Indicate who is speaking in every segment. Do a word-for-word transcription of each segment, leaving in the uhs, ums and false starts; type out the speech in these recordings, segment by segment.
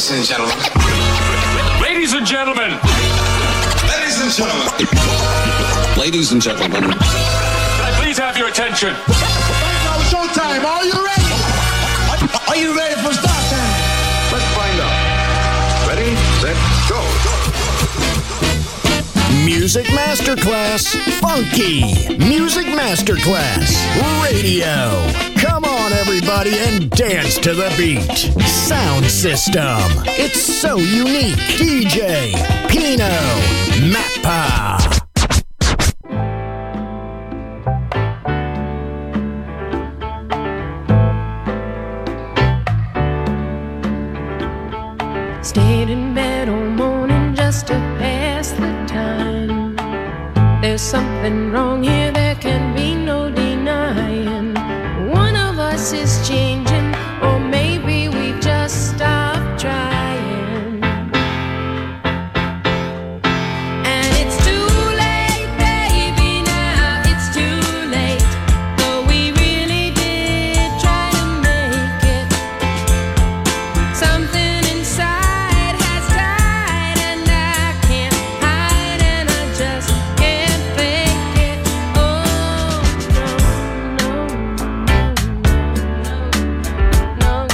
Speaker 1: Ladies and gentlemen.
Speaker 2: Ladies and gentlemen.
Speaker 1: Ladies and gentlemen.
Speaker 3: Ladies and gentlemen.
Speaker 2: Can I please have your attention?
Speaker 4: Now showtime. Are you ready? Are you ready for start time?
Speaker 5: Let's find out. Ready, set, go.
Speaker 6: Music Masterclass Funky. Music Masterclass Radio. Come on, everybody, and dance to the beat. Sound system. It's so unique. D J Pino Mappa.
Speaker 7: Stayed in bed all morning just to pass the time. There's something wrong here, there can be no denying. One of us is changing, or maybe we just stopped trying. And it's too late, baby, now it's too late. Though we really did try to make it. Something inside has died, and I can't hide, and I just can't fake it. Oh, no, no, no,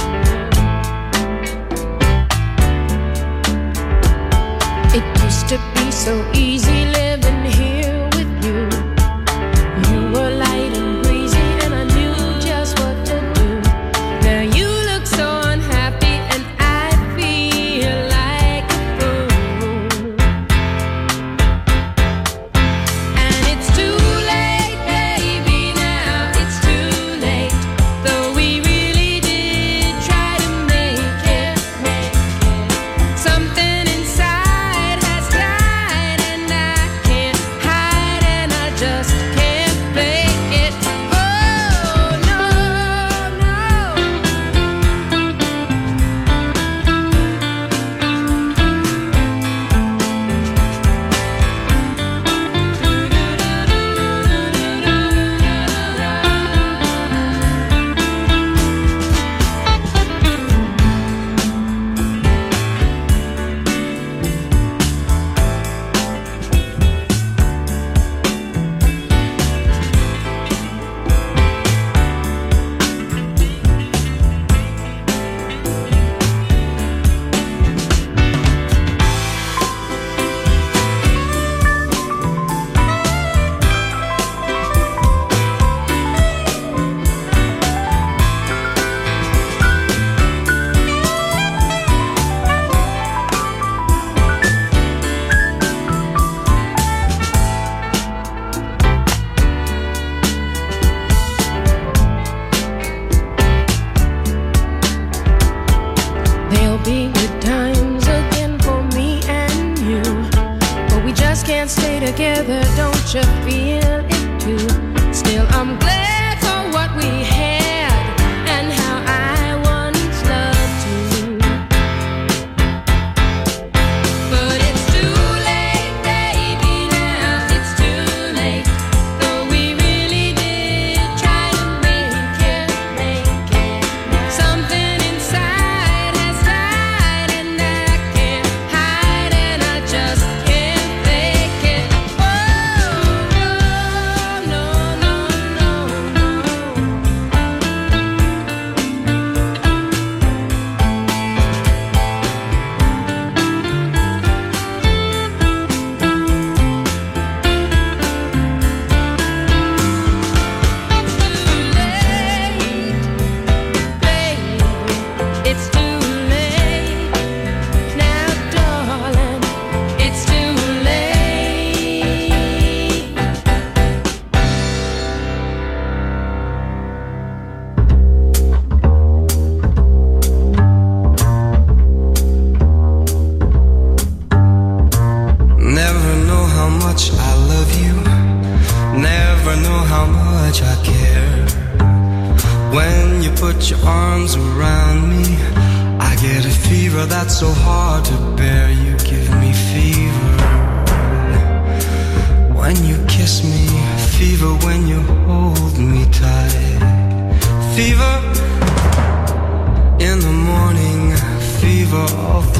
Speaker 7: no. It used to be so easy living here with you. You were light and breezy, and I knew just what to do. Now you look so unhappy, and I feel like a fool. And it's too late, baby, now it's too late. Though we really did try to make it, make it. Something inside has died, and I can't hide, and I just can't fake it. Oh, no, no. There'll be good times again for me and you, but we just can't stay together, don't you feel it too? Still, I'm glad for what we had and how I once loved you. But it's too late, baby, now it's too late. Though we really did try to make it, make it. Something inside has died, and I can't hide, and I just can't fake it. Oh, no, no, no, no. It's too late, now, darling. It's too late.
Speaker 8: Never know how much I love you. Never know how much I care. When you put your arms around me, I get a fever that's so hard to bear. You give me fever when you kiss me, fever when you hold me tight, fever in the morning, fever all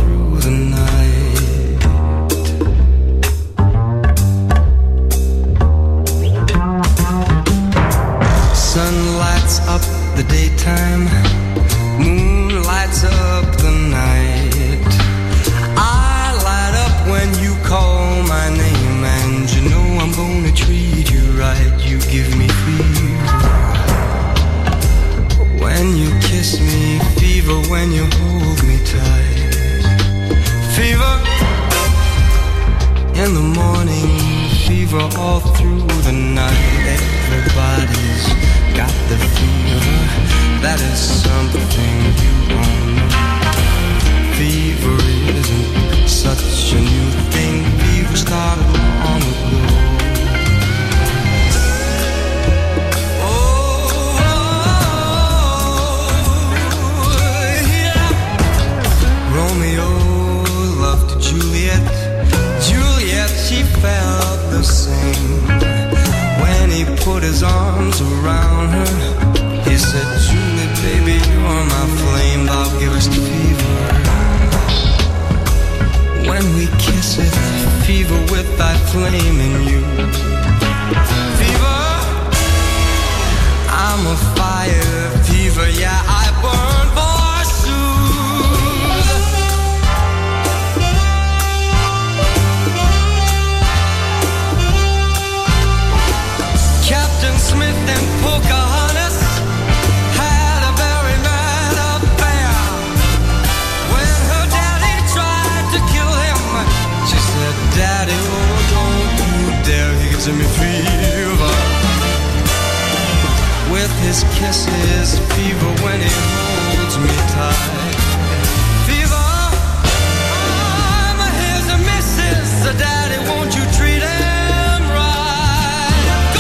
Speaker 8: And you know I'm gonna treat you right. You give me fever when you kiss me, fever when you hold me tight. Fever in the morning, fever all through the night. Everybody's got the fever. That is something you won't know. Fever isn't such a new thing. Fever started long ago. Oh, yeah. Romeo loved Juliet. Juliet, she felt the same. When he put his arms around her, he said, Julie, baby, you're my flame. Thou givest fever. When we kiss it, fever with thy flame in you. Fever, I'm a fire. Fever, yeah, I burn forsooth. Captain Smith and Pocahontas had a very mad affair. When her daddy tried to kill him, she said, Daddy, oh, don't you dare. He gives me fever with his kisses, fever when he holds me tight. Fever, I'm his missus. Daddy, won't you treat him right? Go!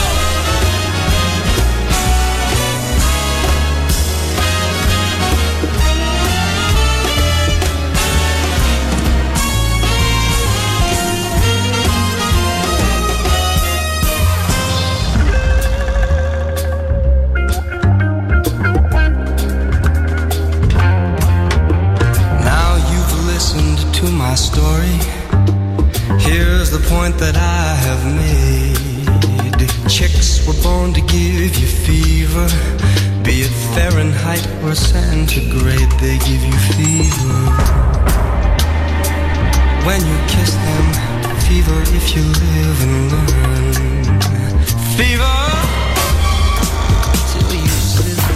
Speaker 8: To my story, here's the point that I have made. Chicks were born to give you fever, be it Fahrenheit or centigrade, they give you fever. When you kiss them, fever if you live and learn. Fever till you sizzle.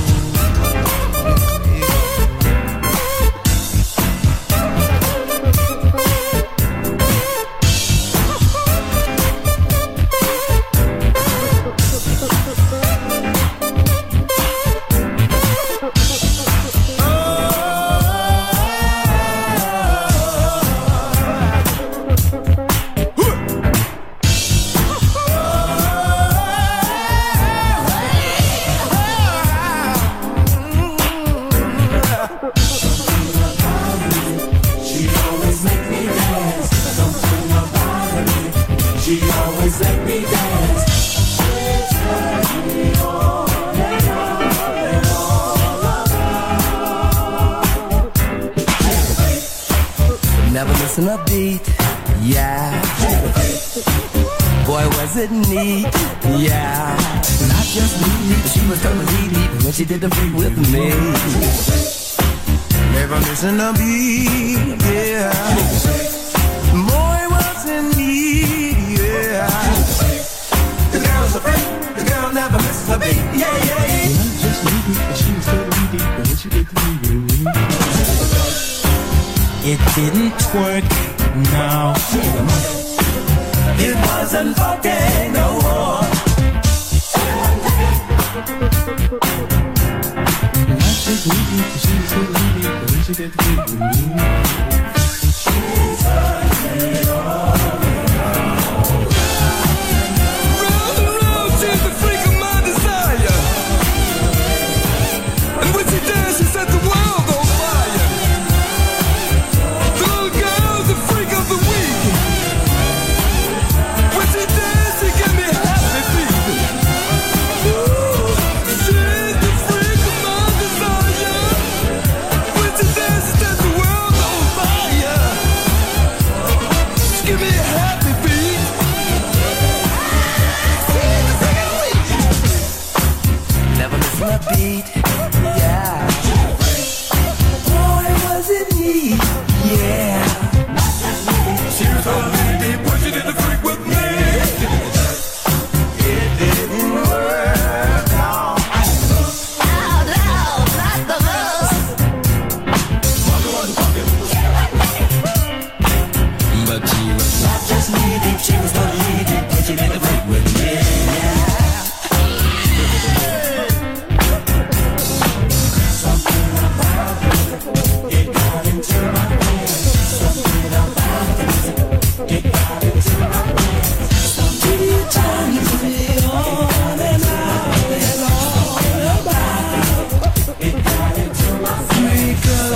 Speaker 9: Never missing a beat, yeah. Boy, was it neat, yeah. Not just neat, she was totally deep when she did the freak with me. Never missing a beat, yeah. Boy, was it neat, yeah. The girl's a freak, the girl never misses a beat, yeah, yeah, yeah. Not just neat, but she was totally deep when she did the freak with me. It didn't work, no. It wasn't funky no more. Not just needy, but she was so needy, but when she did the thing with me. She's funky, oh. Round and round, she's the freak of my desire. And when she dances, she set the world on fire. The freak of the week. When she dances, she give me happy feet. Ooh, she's the freak of my desire. When she dances, that's the world on fire. she was gonna leave me, but you made a break with me. Something about it, it got into my head. Something about it, it got into my head. Something turns me on and on and on about it. It got into my head.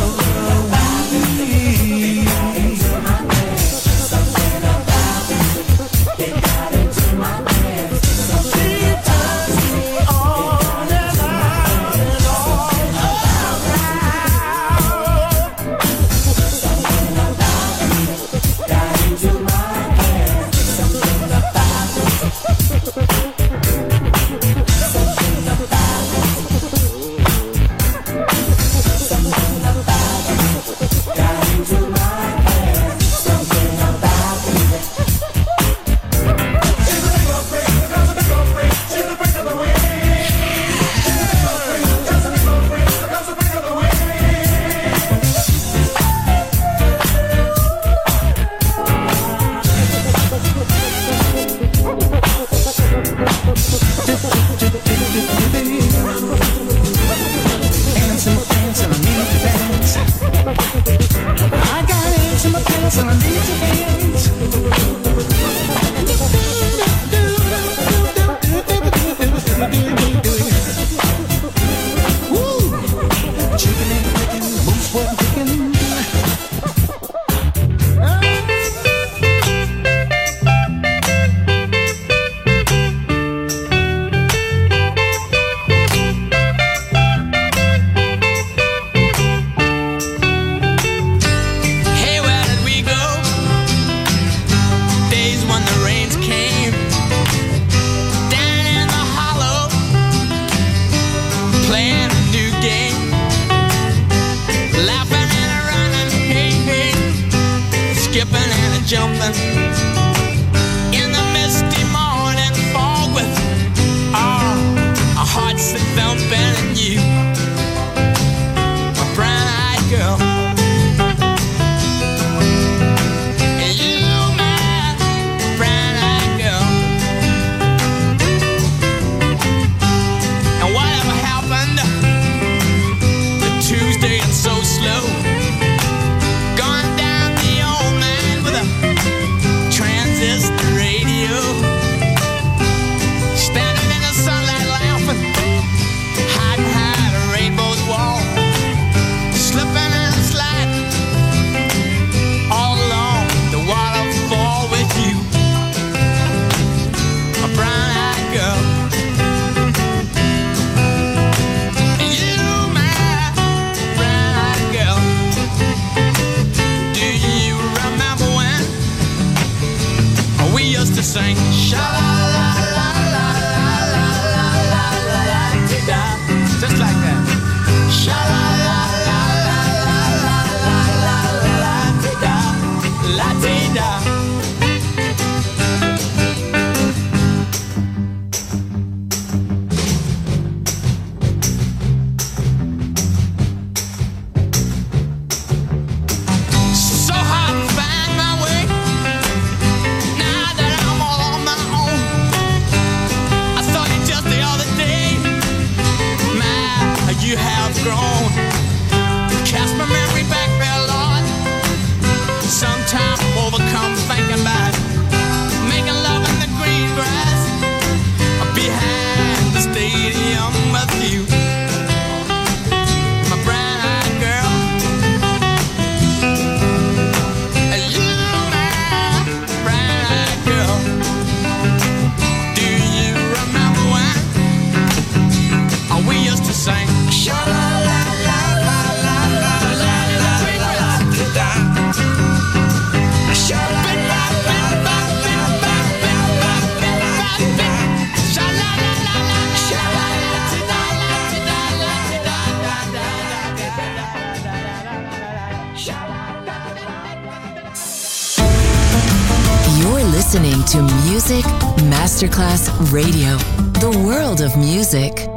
Speaker 10: listening to Music Masterclass Radio, the world of music.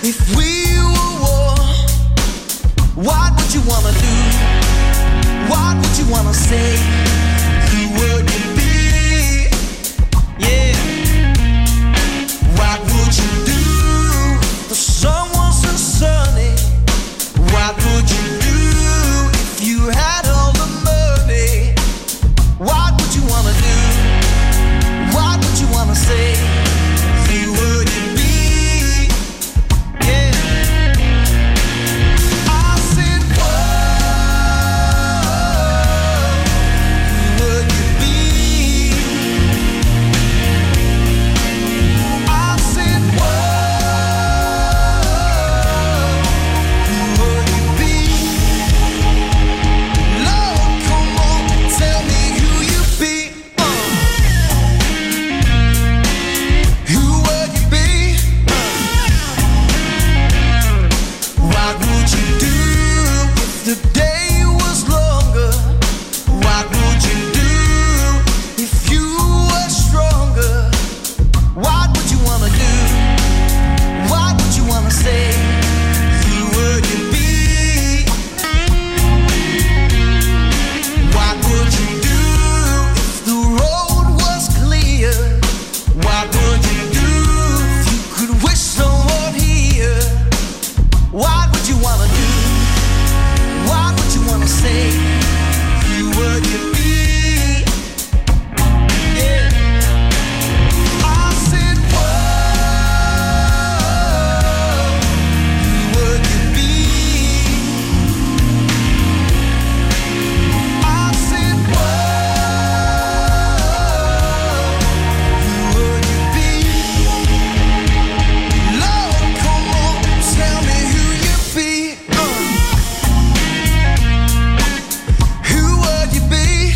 Speaker 9: If we were war, what would you wanna do? What would you wanna say? Who would you be? Yeah. What would you do if someone so sunny? What would you do if you had all the money? What would you wanna do? What would you wanna say? Who would you be? Yeah. I said, whoa, who would you be? I said, whoa, who would you be? Lord, come on, tell me who you be. Uh. Who would you be? What would you do if the day was longer? What would you do if you were stronger? What would you wanna do? What would you wanna say? Who would you be? What would you do if the road was clear? What would you do if you could wish someone here? What would you wanna do? What would you wanna say? Who would you be? Yeah. I said, whoa, who would you be? I said, whoa, who would you be? Lord, come on, tell me who you be. Uh. Who would you be?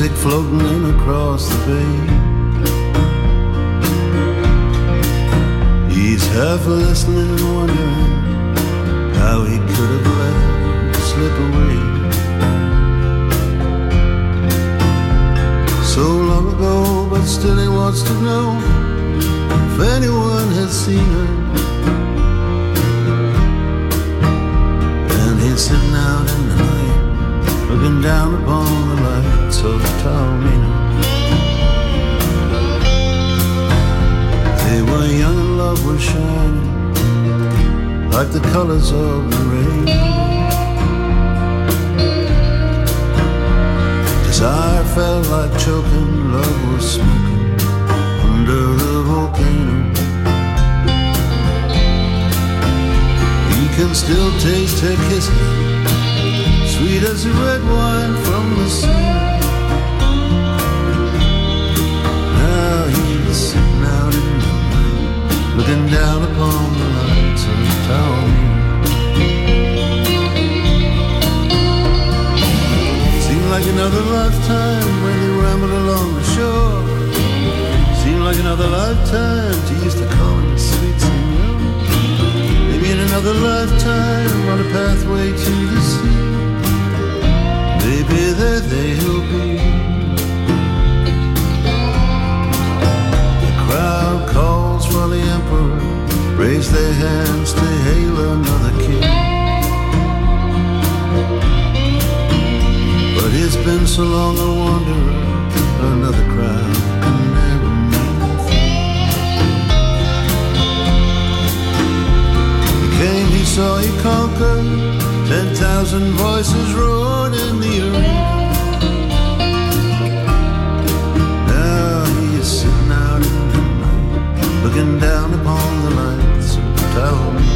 Speaker 11: Pacific floating in across the bay. He's half listening and wondering how he could have let it slip away. So long ago, but still he wants to know if anyone has seen her. And he's sitting out in the night, looking down upon the lights of Taormina. They were young and love was shining like the colors of the rain. Desire felt like choking, love was smoking under the volcano. He can still taste her kisses, sweet as the red wine from the sea. Now he's sitting out in the night, looking down upon the lights of Taormina. Seemed like another lifetime when they rambled along the shore. Seemed like another lifetime she used to call him sweet senor. Maybe in another lifetime on a pathway to the sea. Maybe there they'll be. The crowd calls for the emperor, raise their hands to hail another king. But it's been so long a wanderer, another crowd can never mean a thing. He came, he saw, he conquered. Ten thousand voices roared in the arena. Now he is sitting out in the night, looking down upon the lights of Taormina.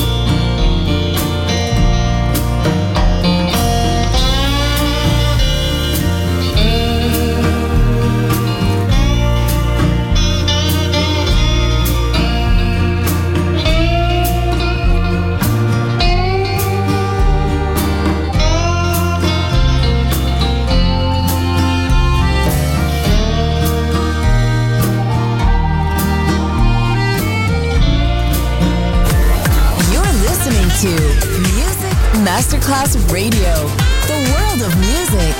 Speaker 10: To Music Masterclass Radio, the world of music.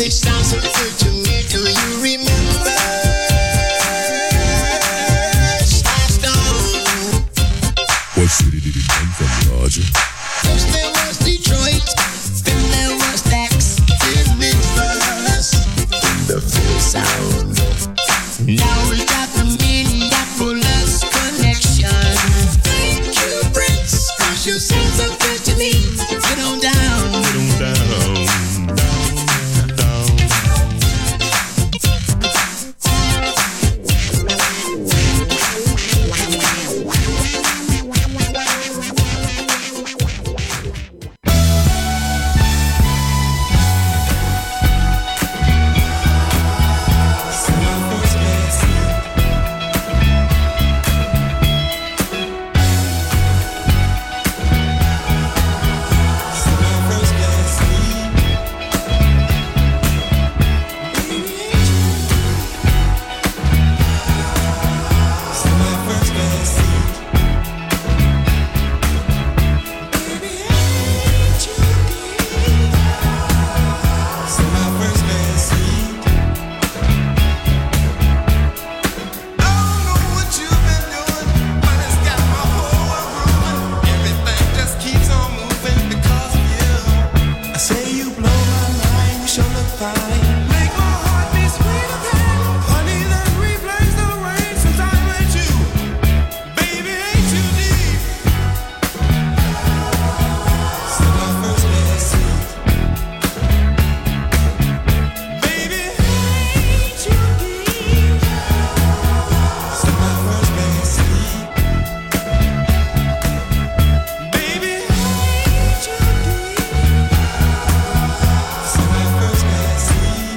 Speaker 4: they sound so good to me. Do you remember? Stone.
Speaker 12: What city did he come from, Roger?
Speaker 4: First there was Detroit, then there was Dax, then Memphis, in the full sound. Now we got the Minneapolis connection. Thank you, Prince, 'cause you sound so good to me. Get on down, get on down.
Speaker 9: See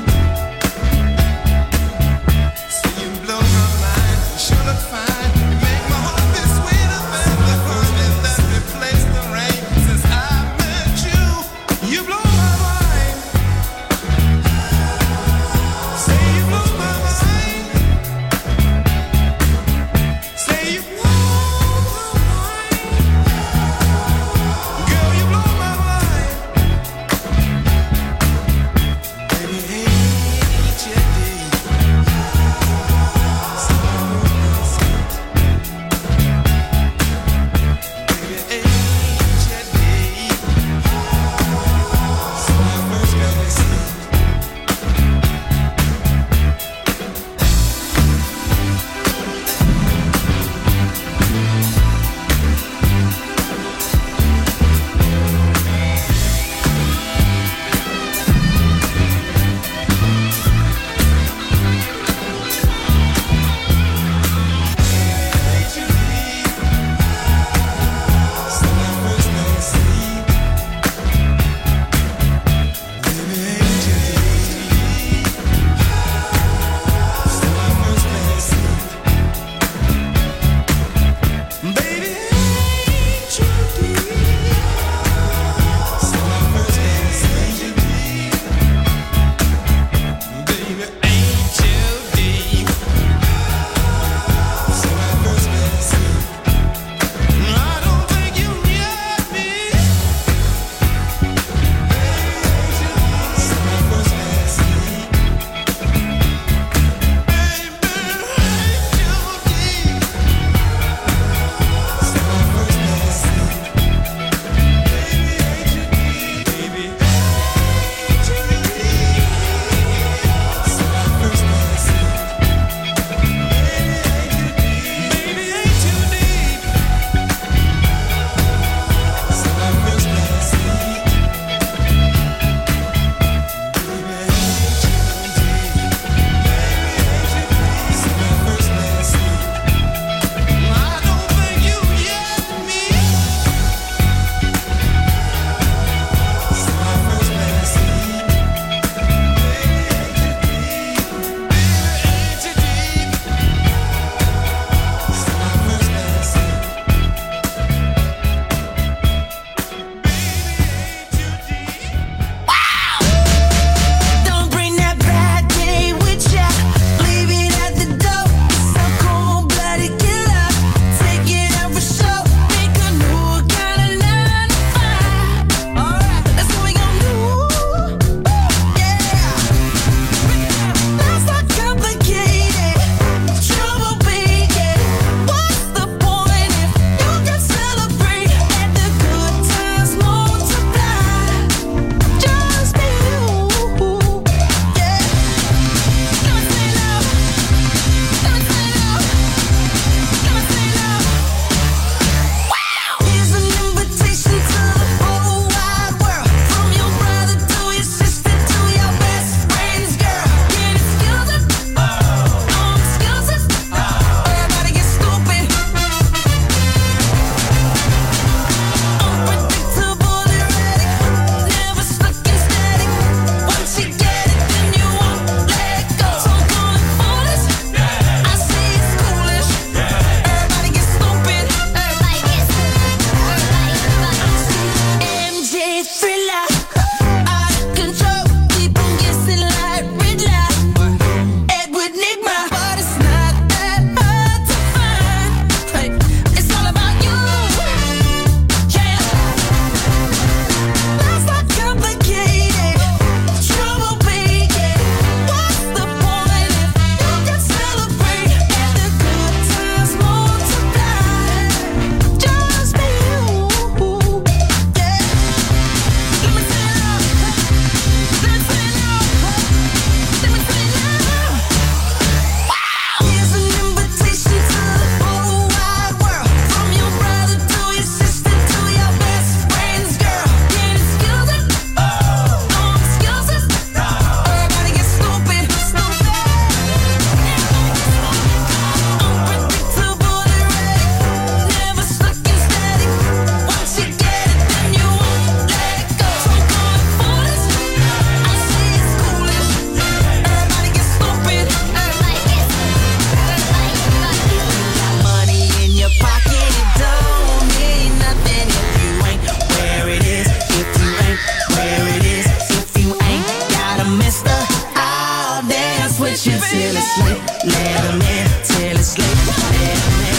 Speaker 9: dance you till it's late. Let 'em in till it's late. Let 'em in.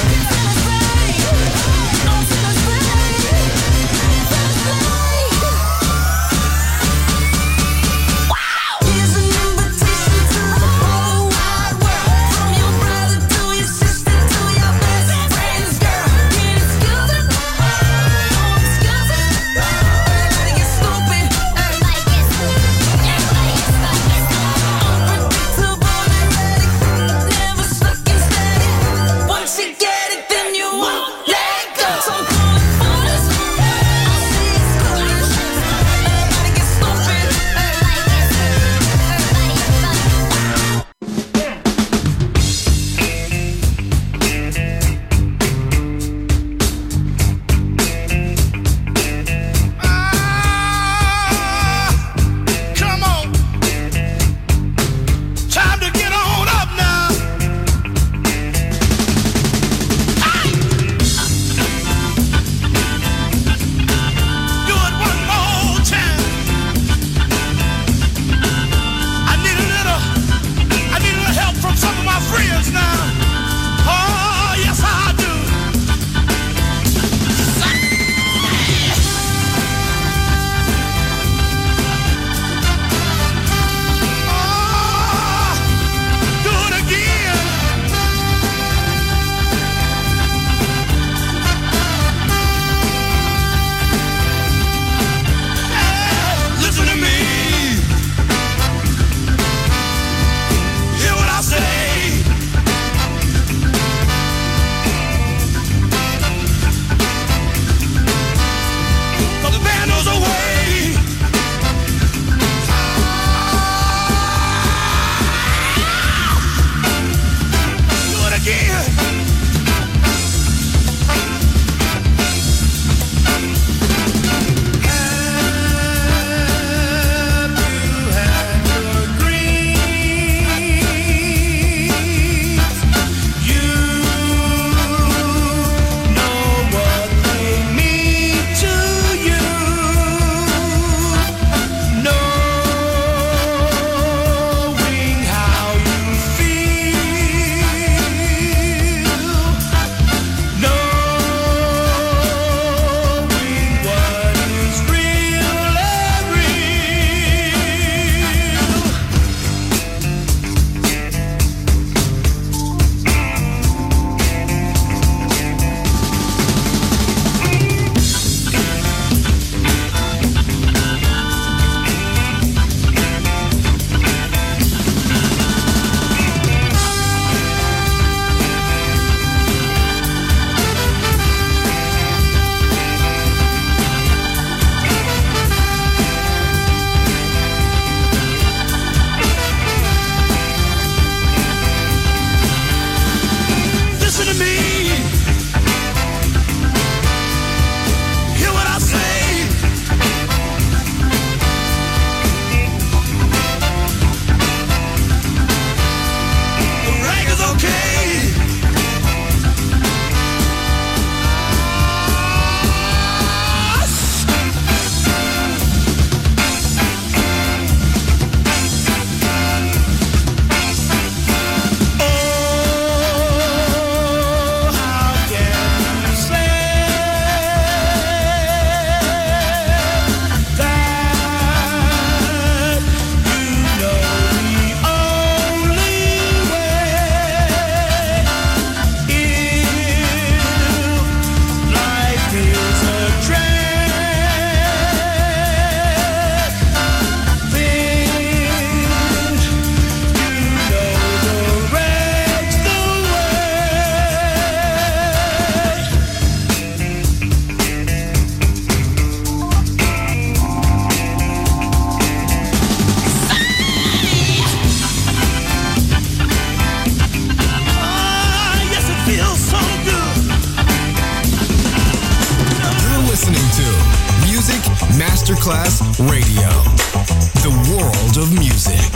Speaker 13: Masterclass Radio, the world of music.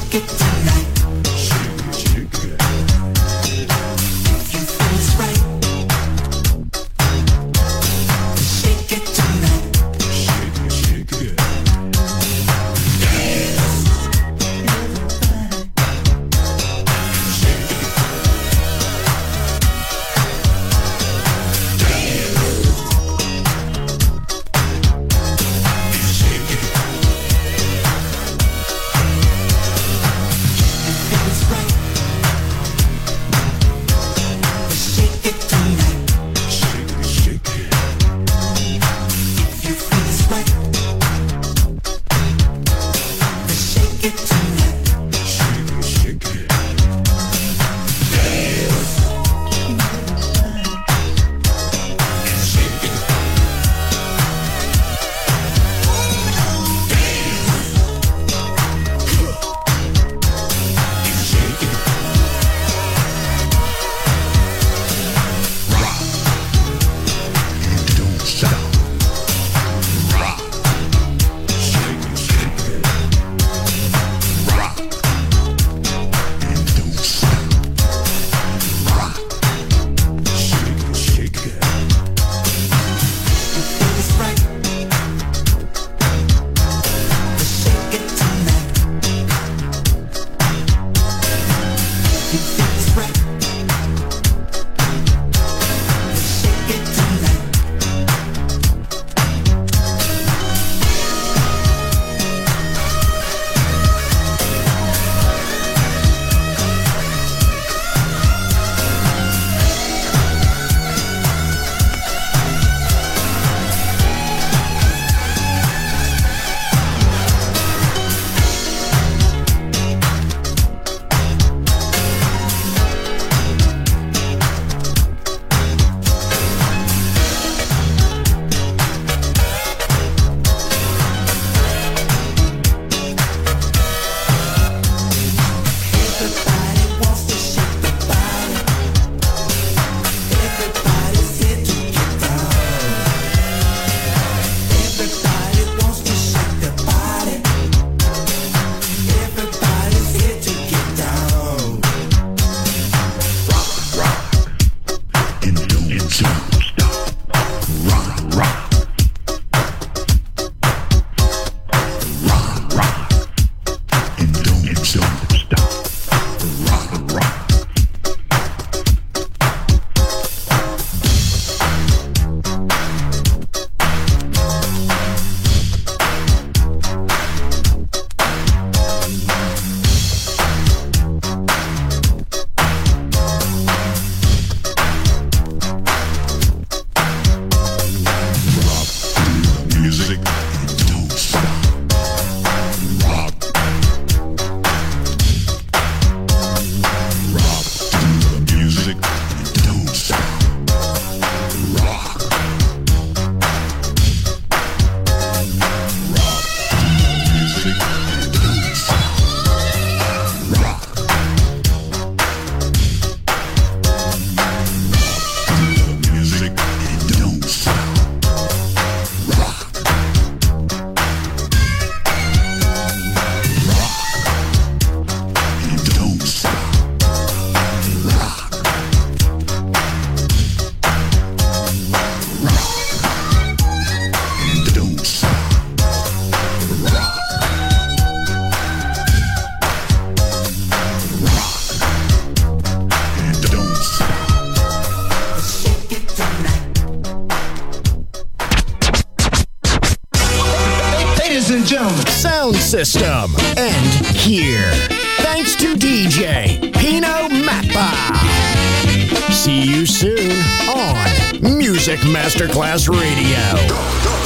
Speaker 6: Sound system. And here. Thanks to D J Pino Mappa. See you soon on Music Masterclass Radio.